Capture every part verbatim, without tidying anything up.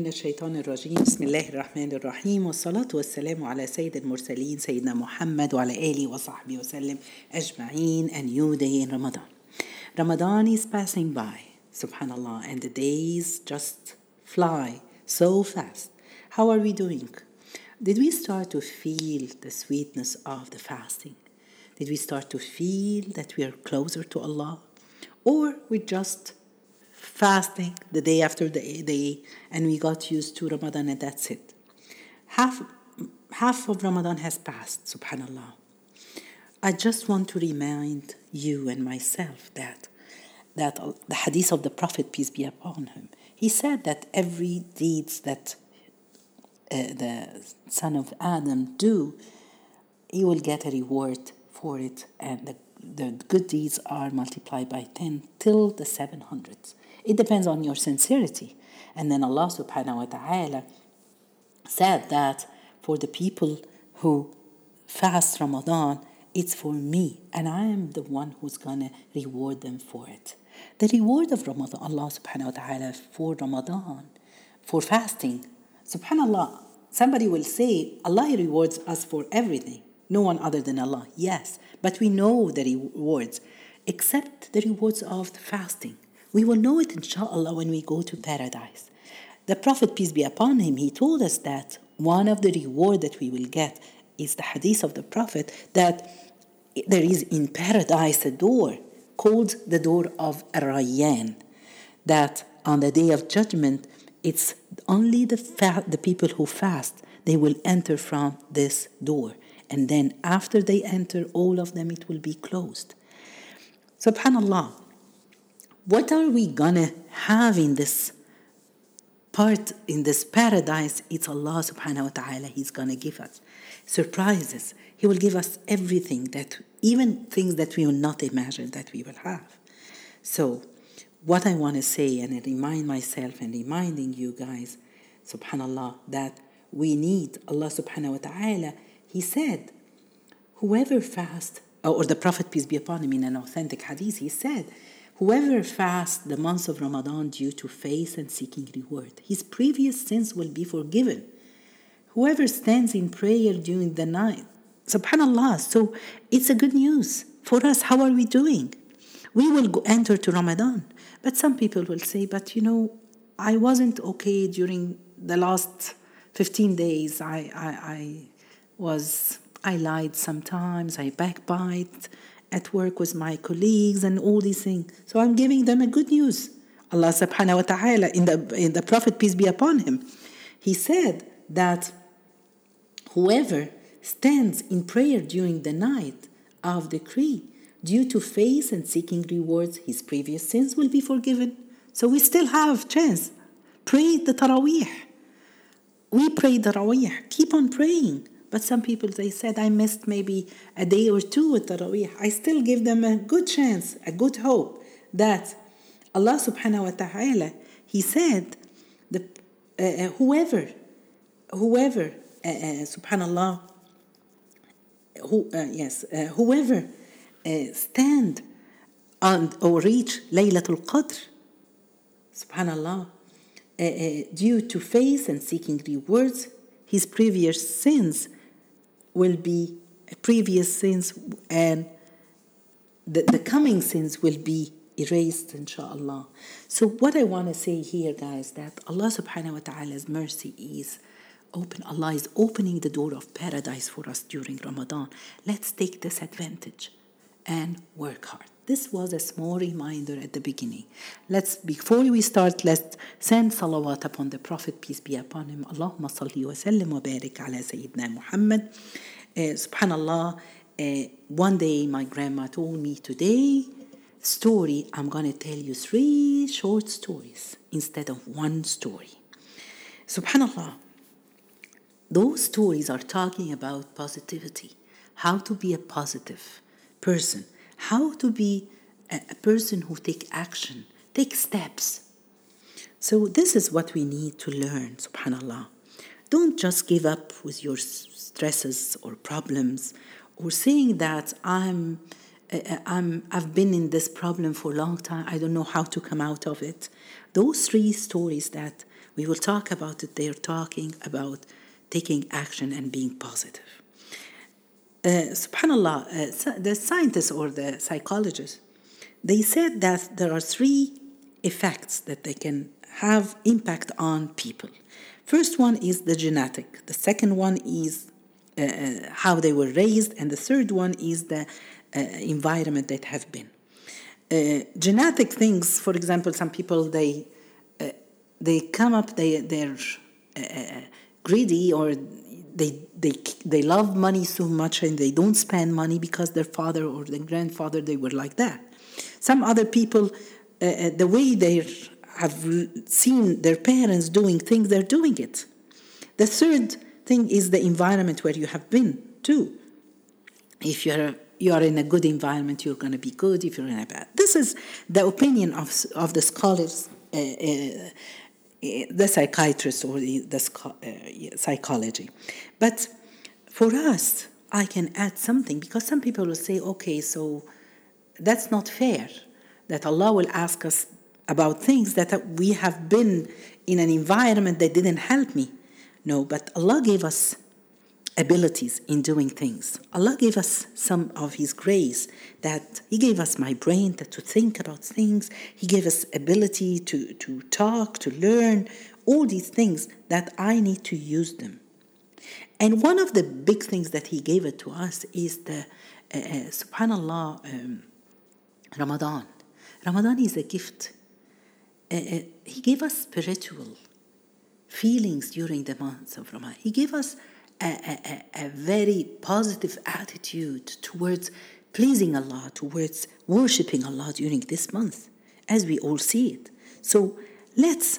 من الشيطان الرجيم بسم الله الرحمن الرحيم والصلاة والسلام على سيد المرسلين سيدنا محمد وعلى آله وصحبه وسلم أجمعين. A new day in Ramadan. Ramadan is passing by, subhanallah, and the days just fly so fast. How are we doing? Did we start to feel the sweetness of the fasting? Did we start to feel that we are closer to Allah? Or we just fasting the day after the day and we got used to Ramadan and that's it? Half, half of Ramadan has passed, subhanallah. I just want to remind you and myself that, that the hadith of the Prophet, peace be upon him, he said that every deeds that uh, the son of Adam do, he will get a reward for it, and the, the good deeds are multiplied by ten till the seven hundreds. It depends on your sincerity. And then Allah subhanahu wa ta'ala said that for the people who fast Ramadan, it's for me, and I am the one who's going to reward them for it. The reward of Ramadan, Allah subhanahu wa ta'ala for Ramadan, for fasting, subhanallah, somebody will say, Allah rewards us for everything. No one other than Allah. Yes, but we know the rewards, except the rewards of the fasting. We will know it, inshallah, when we go to paradise. The Prophet, peace be upon him, he told us that one of the reward that we will get is the hadith of the Prophet that there is in paradise a door called the door of Ar-Rayyan, that on the day of judgment, it's only the fa- the people who fast, they will enter from this door. And then after they enter, all of them, it will be closed. Subhanallah. What are we gonna have in this part, in this paradise? It's Allah subhanahu wa ta'ala. He's gonna give us surprises. He will give us everything, that even things that we will not imagine that we will have. So what I want to say, and I remind myself and reminding you guys, subhanallah, that we need Allah subhanahu wa ta'ala. He said, whoever fasts, or the Prophet, peace be upon him, in an authentic hadith, he said, whoever fasts the month of Ramadan due to faith and seeking reward, his previous sins will be forgiven. Whoever stands in prayer during the night, subhanallah, so it's a good news for us. How are we doing? We will go enter to Ramadan. But some people will say, but you know, I wasn't okay during the last fifteen days. I, I, I was, I lied sometimes, I backbite at work with my colleagues and all these things. So I'm giving them a good news. Allah subhanahu wa ta'ala, in the, in the Prophet, peace be upon him, he said that whoever stands in prayer during the night of decree, due to faith and seeking rewards, his previous sins will be forgiven. So we still have chance. Pray the Taraweeh. We pray the Taraweeh. Keep on praying. But some people, they said, I missed maybe a day or two with Taraweeh. I still give them a good chance, a good hope that Allah subhanahu wa ta'ala, he said, the, uh, whoever, whoever, uh, uh, subhanallah, who, uh, yes, uh, whoever uh, stand on or reach Laylatul Qadr, subhanallah, uh, uh, due to faith and seeking rewards, his previous sins will be previous sins, and the, the coming sins will be erased, inshallah. So what I want to say here, guys, that Allah subhanahu wa ta'ala's mercy is open. Allah is opening the door of paradise for us during Ramadan. Let's take this advantage and work hard. This was a small reminder at the beginning. Let's, before we start, let's send salawat upon the Prophet, peace be upon him. Allahumma salli wa sallim wa barik ala Sayyidina Muhammad. Uh, subhanallah, uh, one day my grandma told me, today, story, I'm going to tell you three short stories instead of one story. Subhanallah, those stories are talking about positivity, how to be a positive person, how to be a, a person who take action, take steps. So this is what we need to learn, subhanallah. Don't just give up with your stresses or problems, or saying that I'm, uh, I'm, I've been in this problem for a long time, I don't know how to come out of it. Those three stories that We will talk about it. They're talking about taking action and being positive. Uh, Subhanallah, uh, the scientists or the psychologists, they said that there are three effects that they can have impact on people. First one is the genetic. The second one is uh, how they were raised. And the third one is the uh, environment that have been. Uh, genetic things, for example, some people, they uh, they come up, they, they're uh, greedy, or they, they, they love money so much and they don't spend money because their father or their grandfather, they were like that. Some other people, uh, the way they have seen their parents doing things, they're doing it. The third thing is the environment where you have been too. If you're you are in a good environment, you're going to be good. If you're in a bad, this is the opinion of of the scholars, uh, uh, the psychiatrists or the, the uh, psychology. But for us, I can add something, because some people will say, okay, so that's not fair, that Allah will ask us about things that we have been in an environment that didn't help me. No, but Allah gave us abilities in doing things. Allah gave us some of His grace, that He gave us my brain to, to think about things. He gave us ability to, to talk, to learn, all these things that I need to use them. And one of the big things that He gave it to us is the, uh, uh, subhanallah, um, Ramadan. Ramadan is a gift. Uh, uh, he gave us spiritual feelings during the months of Ramadan. He gave us a, a, a very positive attitude towards pleasing Allah, towards worshipping Allah during this month, as we all see it. So let's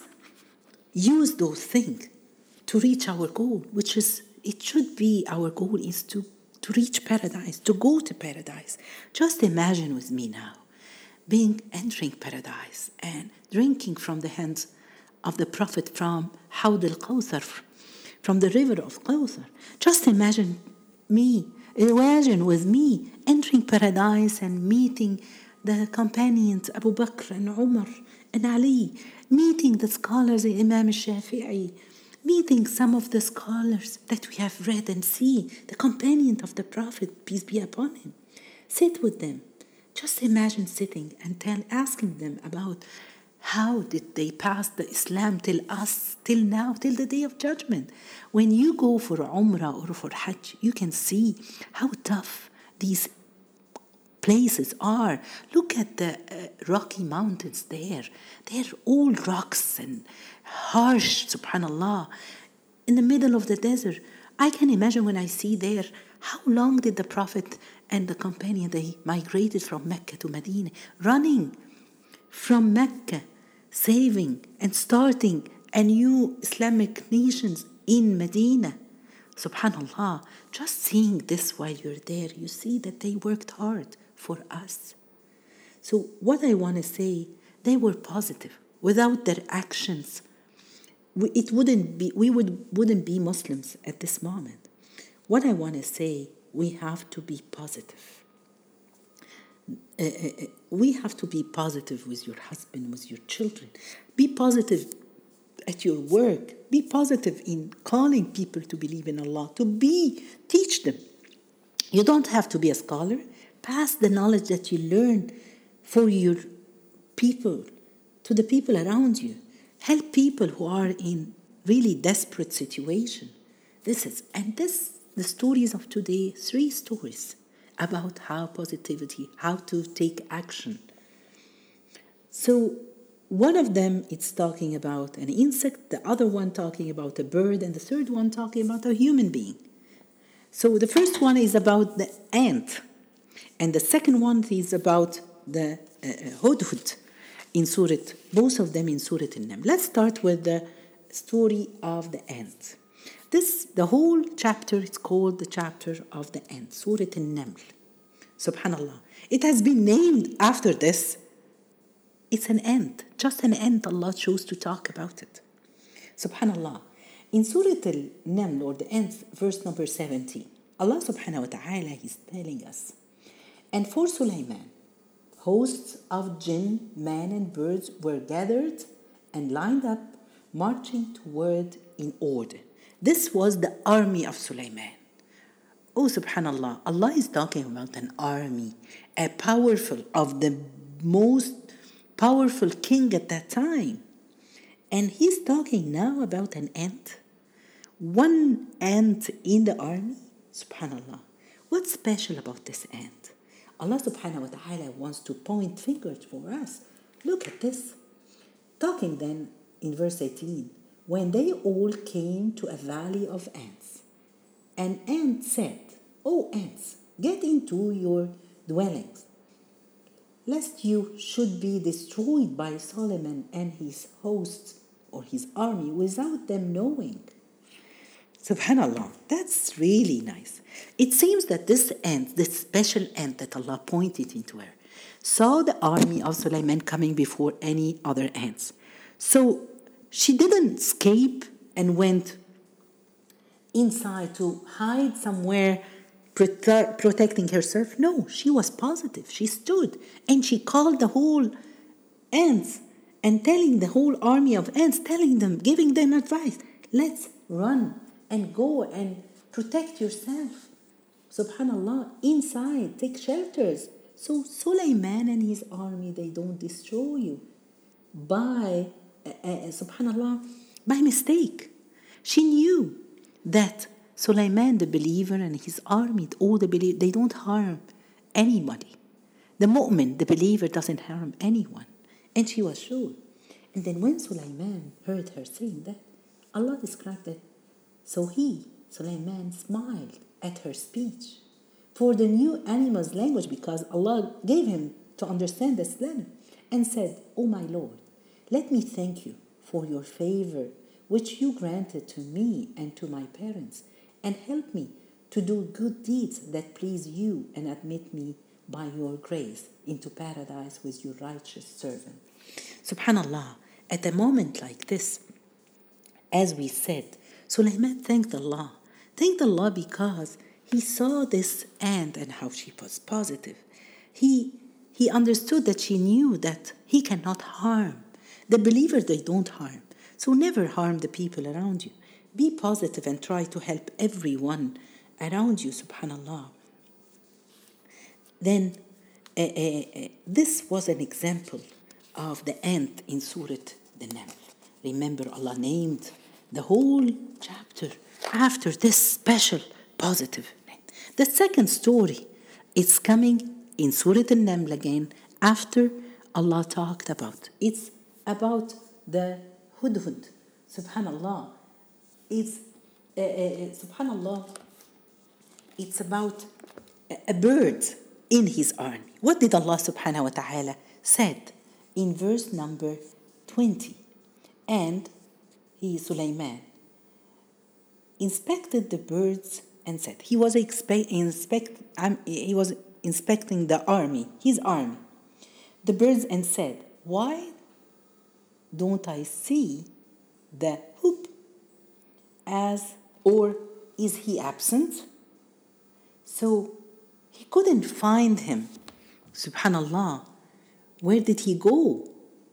use those things to reach our goal, which is, it should be our goal is to, to reach paradise, to go to paradise. Just imagine with me now, being entering paradise and drinking from the hands of the Prophet from Hawd al-Kawthar, from the river of Kawthar. Just imagine me, imagine with me entering paradise and meeting the companions Abu Bakr and Umar and Ali, meeting the scholars Imam al-Shafi'i, meeting some of the scholars that we have read and see, the companion of the Prophet, peace be upon him. Sit with them. Just imagine sitting and tell, asking them about how did they pass the Islam till us, till now, till the Day of Judgment. When you go for Umrah or for Hajj, you can see how tough these places are. Look at the uh, Rocky Mountains there. They're all rocks and harsh, subhanallah, in the middle of the desert. I can imagine when I see there, how long did the Prophet and the companion, they migrated from Mecca to Medina, running from Mecca, saving and starting a new Islamic nations in Medina. Subhanallah, just seeing this while you're there, you see that they worked hard for us. So what I want to say, they were positive. Without their actions, we, it wouldn't be, we would, wouldn't be Muslims at this moment. What I want to say, we have to be positive. Uh, uh, we have to be positive with your husband, with your children. Be positive at your work. Be positive in calling people to believe in Allah, to be, teach them. You don't have to be a scholar. Pass the knowledge that you learn for your people, to the people around you. Help people who are in really desperate situation. This is, and this, the stories of today, three stories about how positivity, how to take action. So one of them, it's talking about an insect, the other one talking about a bird, and the third one talking about a human being. So the first one is about the ant, and the second one is about the uh, hudhud in Surah, both of them in Surah An-Naml. Let's start with the story of the ant. This, the whole chapter is called the chapter of the ant, Surah An-Naml. Subhanallah. It has been named after this. It's an ant, just an ant. Allah chose to talk about it. Subhanallah. In Surah Al-Naml, or the ant, verse number seventy, Allah subhanahu wa ta'ala is telling us, and for Sulaiman, hosts of jinn, man and birds were gathered and lined up, marching toward in order. This was the army of Sulaiman. Oh, subhanallah, Allah is talking about an army, a powerful, of the most powerful king at that time. And he's talking now about an ant. One ant in the army? Subhanallah. What's special about this ant? Allah subhanahu wa ta'ala wants to point fingers for us. Look at this. Talking then in verse eighteen, when they all came to a valley of ants, an ant said, O ants, get into your dwellings, lest you should be destroyed by Solomon and his hosts or his army without them knowing. Subhanallah, that's really nice. It seems that this ant, this special ant that Allah pointed into her, saw the army of Sulaiman coming before any other ants. So she didn't escape and went inside to hide somewhere, prote- protecting herself. No, she was positive. She stood and she called the whole ants and telling the whole army of ants, telling them, giving them advice. Let's run and go and protect yourself. Subhanallah, inside, take shelters. So Sulaiman and his army, they don't destroy you by, uh, uh, subhanallah, by mistake. She knew that Sulaiman, the believer, and his army, all the believers, they don't harm anybody. The mu'min, the believer, doesn't harm anyone. And she was sure. And then when Sulaiman heard her saying that, Allah described it. So he, Sulaiman, smiled at her speech for the new animal's language, because Allah gave him to understand this language, and said, O my Lord, let me thank you for your favor which you granted to me and to my parents, and help me to do good deeds that please you, and admit me by your grace into paradise with your righteous servant. Subhanallah, at a moment like this, as we said, Sulaiman thanked Allah. Thanked Allah because he saw this ant and how she was positive. He, he understood that she knew that he cannot harm. The believers, they don't harm. So never harm the people around you. Be positive and try to help everyone around you, subhanallah. Then uh, uh, uh, this was an example of the ant in Surah the-Naml. Remember, Allah named the whole chapter after this special positive name. The second story is coming in Surah An-Naml again after Allah talked about. It's about the hudhud. Subhanallah. It's, uh, uh, subhanallah, it's about a, a bird in his army. What did Allah subhanahu wa ta'ala said in verse number twenty? And he, Sulaiman, inspected the birds and said, he was expe- inspect, um, he was inspecting the army, his army, the birds, and said, why don't I see the hoop? As, or is he absent? So he couldn't find him. Subhanallah, where did he go?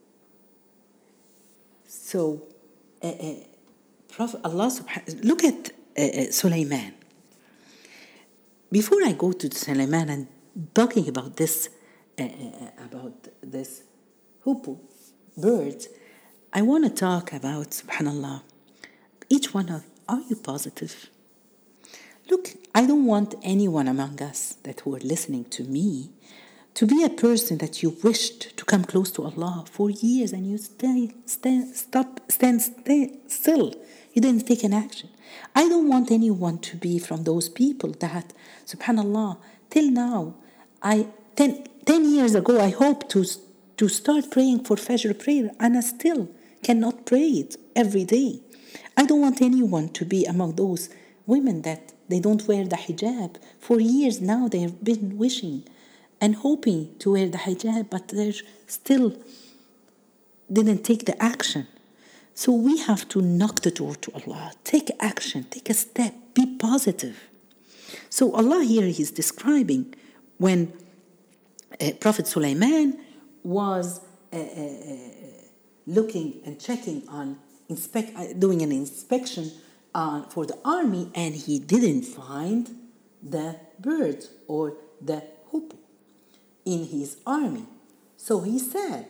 So, uh, uh, Prophet Allah subhanahu, look at uh, uh, Sulaiman. Before I go to Sulaiman and talking about this, uh, uh, about this hoopoe, birds, I want to talk about, subhanallah, each one of, are you positive? Look, I don't want anyone among us that who are listening to me to be a person that you wished to come close to Allah for years and you stay, stand, stop, stand stay still. You didn't take an action. I don't want anyone to be from those people that, subhanallah, till now, I ten, ten years ago, I hoped to, to start praying for Fajr prayer, and I still cannot pray it every day. I don't want anyone to be among those women that they don't wear the hijab. For years now, they have been wishing and hoping to wear the hijab, but they still didn't take the action. So we have to knock the door to Allah. Take action, take a step, be positive. So Allah here is describing when uh, Prophet Sulaiman was uh, uh, looking and checking on inspect, uh, doing an inspection uh, for the army, and he didn't find the bird or the hoopoe in his army. So he said,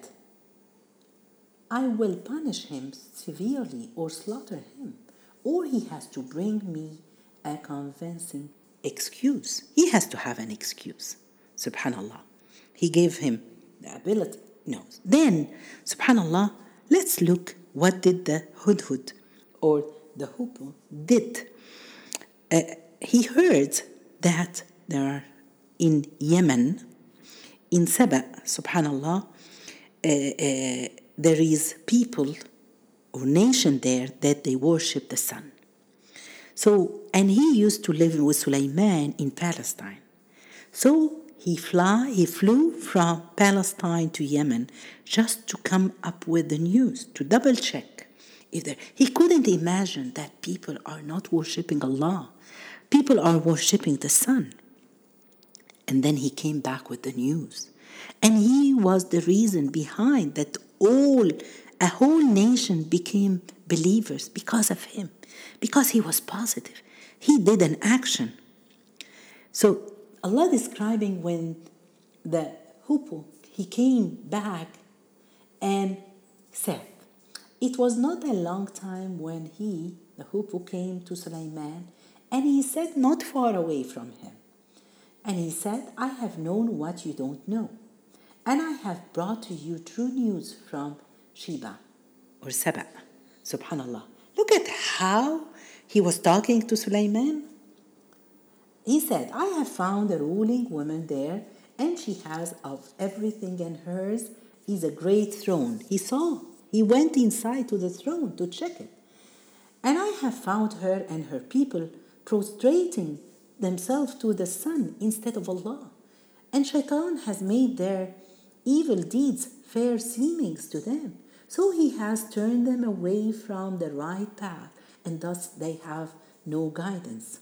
I will punish him severely or slaughter him, or he has to bring me a convincing excuse. He has to have an excuse. Subhanallah. He gave him the ability. No. Then, subhanallah, let's look what did the hudhud or the hoopoe did. Uh, he heard that there are in Yemen, in Saba, subhanallah, uh, uh, there is people or nation there that they worship the sun. So, and he used to live with Sulaiman in Palestine. So he fly, he flew from Palestine to Yemen just to come up with the news, to double check. If there, he couldn't imagine that people are not worshipping Allah. People are worshipping the sun. And then he came back with the news. And he was the reason behind that all, a whole nation became believers because of him, because he was positive. He did an action. So Allah describing when the hoopoe, he came back and said, it was not a long time when he, the hoopoe, came to Sulaiman, and he said not far away from him. And he said, I have known what you don't know, and I have brought to you true news from Sheba or Saba. Subhanallah. Look at how he was talking to Sulaiman. He said, I have found a ruling woman there, and she has of everything, and hers is a great throne. He saw. He went inside to the throne to check it. And I have found her and her people prostrating themselves to the sun instead of Allah. And Shaitan has made their evil deeds fair seemings to them. So he has turned them away from the right path, and thus they have no guidance.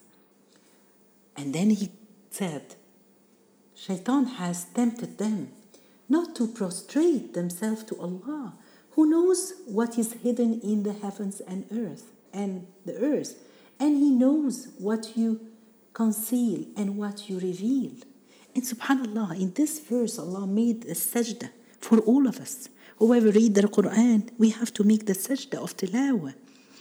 And then he said, Shaitan has tempted them not to prostrate themselves to Allah, who knows what is hidden in the heavens and earth and the earth, and he knows what you conceal and what you reveal. And subhanallah, in this verse, Allah made a sajda for all of us. Whoever read the Quran, we have to make the sajda of tilawah,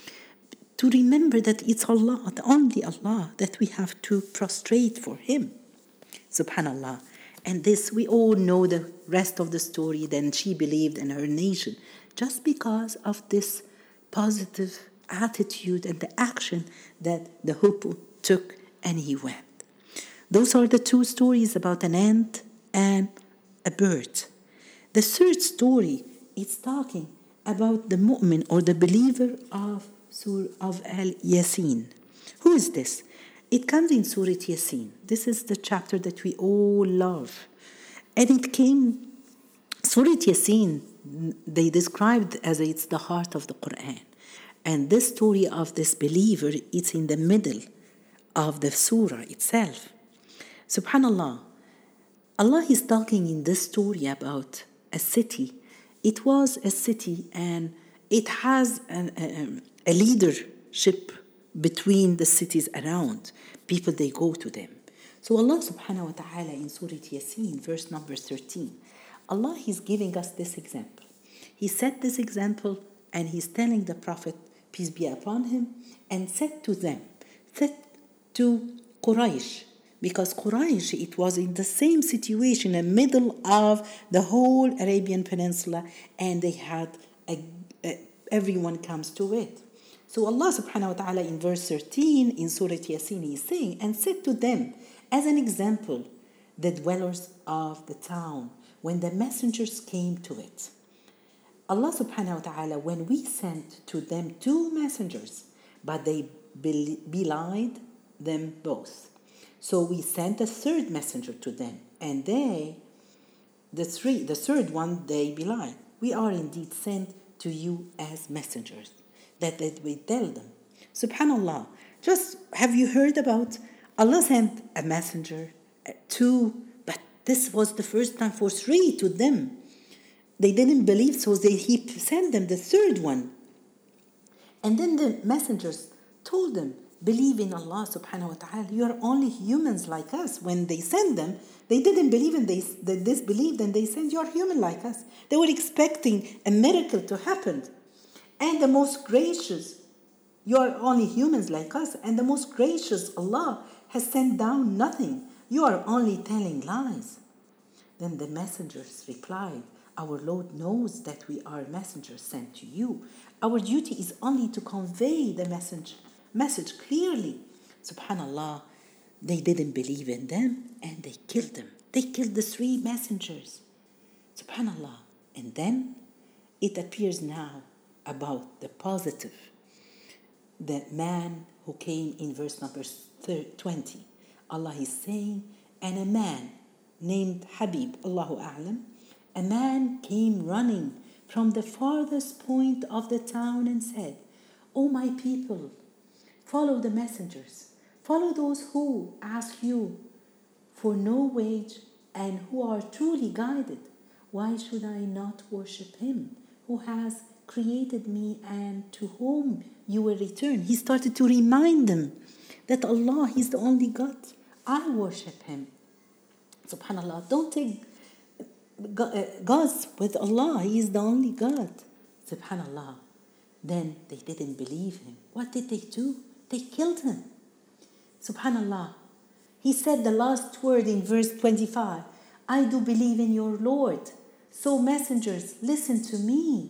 to remember that it's Allah, the only Allah, that we have to prostrate for Him. Subhanallah. And this, we all know the rest of the story. Then she believed in her nation just because of this positive attitude and the action that the hoopoe took, and he went. Those are the two stories about an ant and a bird. The third story is talking about the mu'min or the believer of Surah of Al-Yasin. Who is this? It comes in Surah Yasin. This is the chapter that we all love. And it came, Surah Yasin, they described as it's the heart of the Quran. And this story of this believer, it's in the middle of the surah itself. Subhanallah, Allah is talking in this story about a city. It was a city, and it has an, a, a leadership between the cities around. People, they go to them. So Allah subhanahu wa ta'ala in Surah Yasin, verse number thirteen, Allah is giving us this example. He set this example, and He's telling the Prophet, peace be upon him, and said to them, said to Quraysh, because Quraysh, it was in the same situation in the middle of the whole Arabian Peninsula, and they had, a, a, everyone comes to it. So Allah subhanahu wa ta'ala in verse thirteen in Surah Yasin is saying, and said to them, as an example, the dwellers of the town, when the messengers came to it. Allah subhanahu wa ta'ala, when we sent to them two messengers, but they belied them both. So we sent a third messenger to them, and they, the three, the third one, they belied. We are indeed sent to you as messengers, that, that we tell them. Subhanallah, just have you heard about Allah sent a messenger, two, but this was the first time for three to them. They didn't believe, so they, he sent them the third one. And then the messengers told them, believe in Allah subhanahu wa ta'ala. You are only humans like us. When they sent them, they didn't believe in this, they disbelieved, and they said, you are human like us. They were expecting a miracle to happen. And the most gracious, you are only humans like us, and the most gracious Allah has sent down nothing. You are only telling lies. Then the messengers replied, our Lord knows that we are messengers sent to you. Our duty is only to convey the message, message clearly. Subhanallah, they didn't believe in them and they killed them. They killed the three messengers. Subhanallah. And then it appears now about the positive. The man who came in verse number twenty. Allah is saying, and a man named Habib, Allahu A'lam, a man came running from the farthest point of the town and said, O my people, follow the messengers. Follow those who ask you for no wage and who are truly guided. Why should I not worship him who has created me and to whom you will return? He started to remind them that Allah is the only God. I worship him. Subhanallah, don't take gods with Allah. He is the only God. Subhanallah. Then they didn't believe him. What did they do? They killed him. Subhanallah. He said the last word in verse twenty-five. I do believe in your Lord. So messengers, listen to me.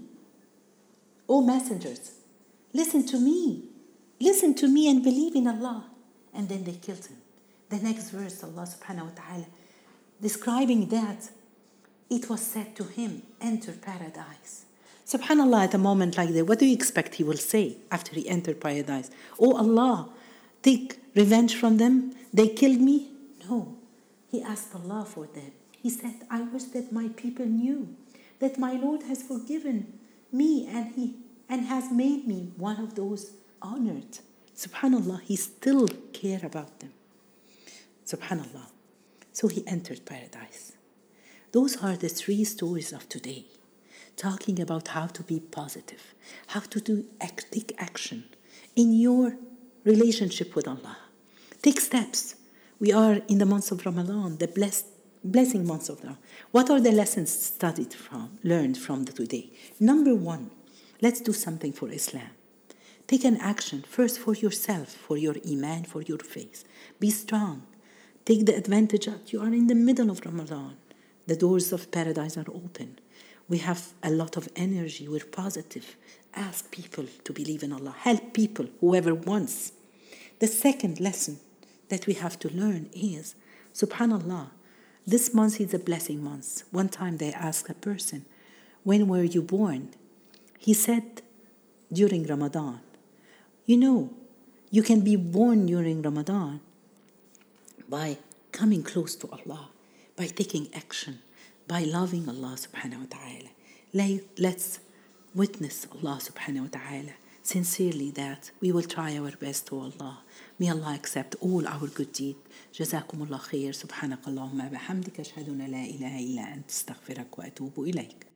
O messengers, listen to me. Listen to me and believe in Allah. And then they killed him. The next verse, Allah subhanahu wa ta'ala, describing that, it was said to him, enter paradise. Subhanallah, at a moment like that, what do you expect he will say after he entered paradise? Oh Allah, take revenge from them. They killed me. No, he asked Allah for them. He said, I wish that my people knew that my Lord has forgiven me and he and has made me one of those honored. Subhanallah, he still cared about them. Subhanallah. So he entered paradise. Those are the three stories of today, talking about how to be positive, how to do take action in your relationship with Allah. Take steps. We are in the month of Ramadan, the blessed, blessing month of Ramadan. What are the lessons studied from, learned from the today? Number one, let's do something for Islam. Take an action first for yourself, for your iman, for your faith. Be strong. Take the advantage that you are in the middle of Ramadan. The doors of paradise are open. We have a lot of energy. We're positive. Ask people to believe in Allah. Help people, whoever wants. The second lesson that we have to learn is, subhanallah, this month is a blessing month. One time they asked a person, when were you born? He said, during Ramadan. You know, you can be born during Ramadan by coming close to Allah, by taking action, by loving Allah subhanahu wa ta'ala. Let's witness Allah subhanahu wa ta'ala sincerely that we will try our best to Allah. May Allah accept all our good deeds. جزاكم الله خير. سبحانك اللهم وبحمدك أشهد أن لا إله إلا أنت أستغفرك وأتوب إليك.